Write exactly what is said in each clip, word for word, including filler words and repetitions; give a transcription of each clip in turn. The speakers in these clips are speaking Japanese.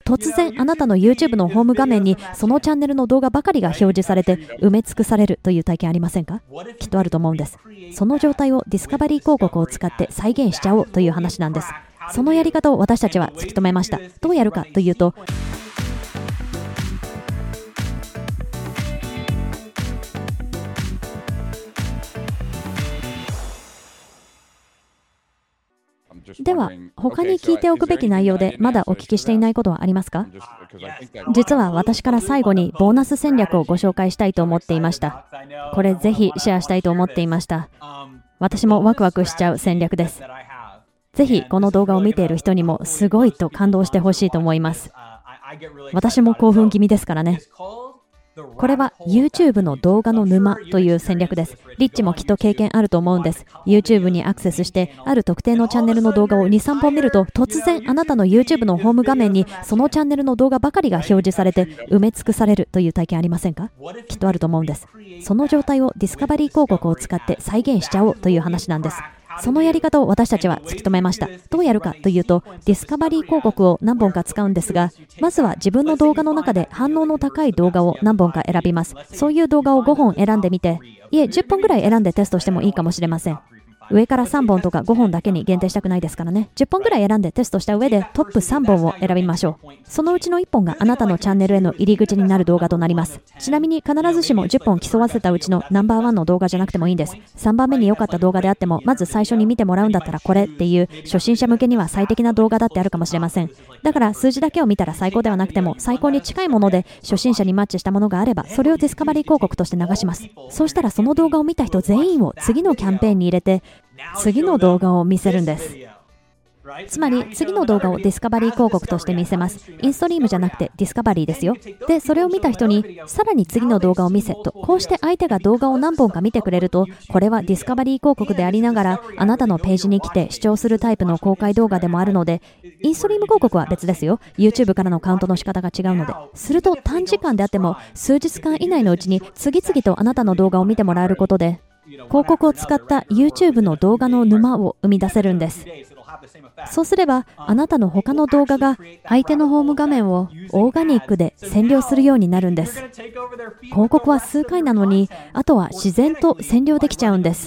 突然あなたの YouTube のホーム画面にそのチャンネルの動画ばかりが表示されて埋め尽くされるという体験ありませんか？きっとあると思うんです。その状態をディスカバリー広告を使って再現しちゃおうという話なんです。そのやり方を私たちは突き止めました。どうやるかというと、では、他に聞いておくべき内容でまだお聞きしていないことはありますか？実は私から最後にボーナス戦略をご紹介したいと思っていました。これぜひシェアしたいと思っていました。私もワクワクしちゃう戦略です。ぜひこの動画を見ている人にもすごいと感動してほしいと思います。私も興奮気味ですからね。これは YouTube の動画の沼という戦略です。リッチもきっと経験あると思うんです。YouTube にアクセスして、ある特定のチャンネルの動画をに、さんぼん見ると、突然あなたの YouTube のホーム画面にそのチャンネルの動画ばかりが表示されて埋め尽くされるという体験ありませんか？きっとあると思うんです。その状態をディスカバリー広告を使って再現しちゃおうという話なんです。そのやり方を私たちは突き止めました。どうやるかというと、ディスカバリー広告を何本か使うんですが、まずは自分の動画の中で反応の高い動画を何本か選びます。そういう動画をごほん選んでみて、いえ、じゅっぽんぐらい選んでテストしてもいいかもしれません。上からさんぼんとかごほんだけに限定したくないですからね。じゅっぽんぐらい選んでテストした上でトップさんぼんを選びましょう。そのうちのいっぽんがあなたのチャンネルへの入り口になる動画となります。ちなみに必ずしもじゅっぽん競わせたうちのナンバーワンの動画じゃなくてもいいんです。さんばんめに良かった動画であっても、まず最初に見てもらうんだったらこれっていう初心者向けには最適な動画だってあるかもしれません。だから数字だけを見たら最高ではなくても、最高に近いもので初心者にマッチしたものがあれば、それをディスカバリー広告として流します。そうしたらその動画を見た人全員を次のキャンペーンに入れて、次の動画を見せるんです。つまり次の動画をディスカバリー広告として見せます。インストリームじゃなくてディスカバリーですよ。で、それを見た人にさらに次の動画を見せと、こうして相手が動画を何本か見てくれると、これはディスカバリー広告でありながらあなたのページに来て視聴するタイプの公開動画でもあるので、インストリーム広告は別ですよ。 YouTube からのカウントの仕方が違うので。すると短時間であっても数日間以内のうちに次々とあなたの動画を見てもらえることで、広告を使った YouTube の動画の沼を生み出せるんです。そうすればあなたの他の動画が相手のホーム画面をオーガニックで占領するようになるんです。広告は数回なのに、あとは自然と占領できちゃうんです。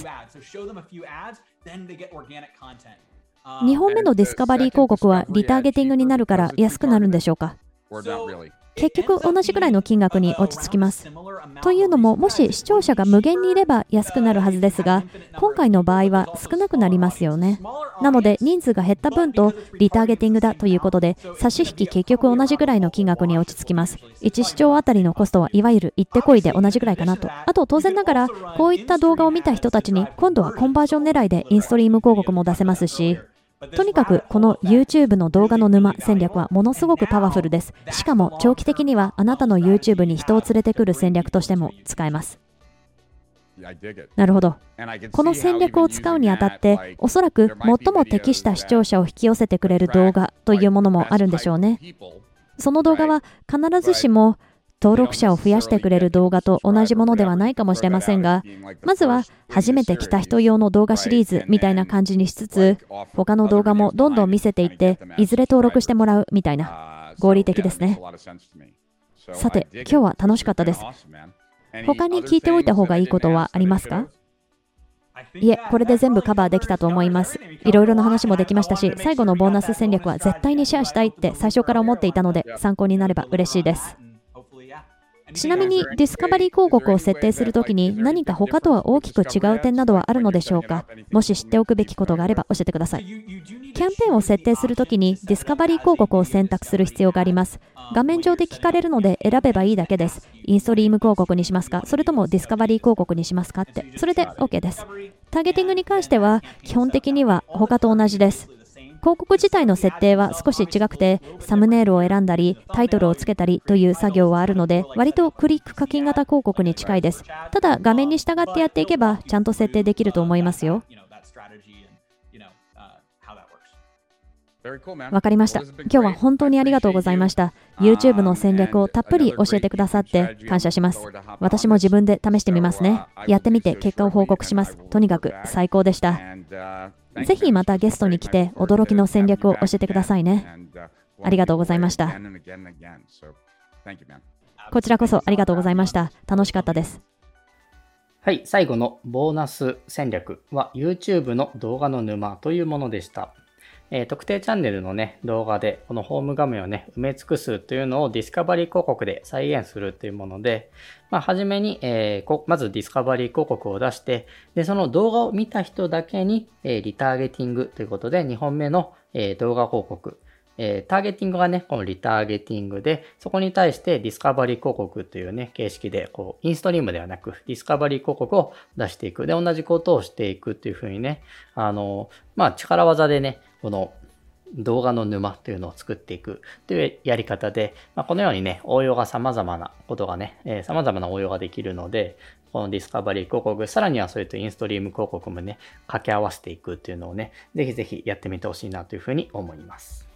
にほんめのディスカバリー広告はリターゲティングになるから安くなるんでしょうか？結局同じぐらいの金額に落ち着きます。というのも、もし視聴者が無限にいれば安くなるはずですが、今回の場合は少なくなりますよね。なので人数が減った分とリターゲティングだということで、差し引き結局同じぐらいの金額に落ち着きます。いち視聴あたりのコストはいわゆる行ってこいで同じぐらいかなと。あと当然ながらこういった動画を見た人たちに今度はコンバージョン狙いでインストリーム広告も出せますし、とにかくこの YouTube の動画の沼戦略はものすごくパワフルです。しかも長期的にはあなたの YouTube に人を連れてくる戦略としても使えます。なるほど。この戦略を使うにあたって、おそらく最も適した視聴者を引き寄せてくれる動画というものもあるんでしょうね。その動画は必ずしも登録者を増やしてくれる動画と同じものではないかもしれませんが、まずは初めて来た人用の動画シリーズみたいな感じにしつつ、他の動画もどんどん見せていって、いずれ登録してもらうみたいな、合理的ですね。さて、今日は楽しかったです。他に聞いておいた方がいいことはありますか？いえ、これで全部カバーできたと思います。いろいろな話もできましたし、最後のボーナス戦略は絶対にシェアしたいって最初から思っていたので、参考になれば嬉しいです。ちなみにディスカバリー広告を設定するときに何か他とは大きく違う点などはあるのでしょうか？もし知っておくべきことがあれば教えてください。キャンペーンを設定するときにディスカバリー広告を選択する必要があります。画面上で聞かれるので選べばいいだけです。インストリーム広告にしますか？それともディスカバリー広告にしますかって。それで OK です。ターゲティングに関しては基本的には他と同じです。広告自体の設定は少し違くて、サムネイルを選んだり、タイトルをつけたりという作業はあるので、割とクリック課金型広告に近いです。ただ、画面に従ってやっていけば、ちゃんと設定できると思いますよ。わかりました。今日は本当にありがとうございました。YouTube の戦略をたっぷり教えてくださって感謝します。私も自分で試してみますね。やってみて結果を報告します。とにかく最高でした。ぜひまたゲストに来て驚きの戦略を教えてくださいね。 ありがとうございました。こちらこそありがとうございました。楽しかったです。 はい、最後のボーナス戦略は YouTube の動画の沼というものでした。えー、特定チャンネルのね、動画でこのホーム画面をね、埋め尽くすというのをディスカバリー広告で再現するというもので、まあ、はじめに、えー、まずディスカバリー広告を出して、で、その動画を見た人だけに、えー、リターゲティングということでにほんめの、えー、動画広告、えー、ターゲティングがね、このリターゲティングで、そこに対してディスカバリー広告というね、形式で、こう、インストリームではなく、ディスカバリー広告を出していく。で、同じことをしていくっていうふうにね、あの、まあ、力技でね、この動画の沼というのを作っていくというやり方で、まあ、このようにね、応用が様々なことがね、えー、様々な応用ができるので、このディスカバリー広告、さらにはそれとインストリーム広告もね、掛け合わせていくっていうのをね、ぜひぜひやってみてほしいなというふうに思います。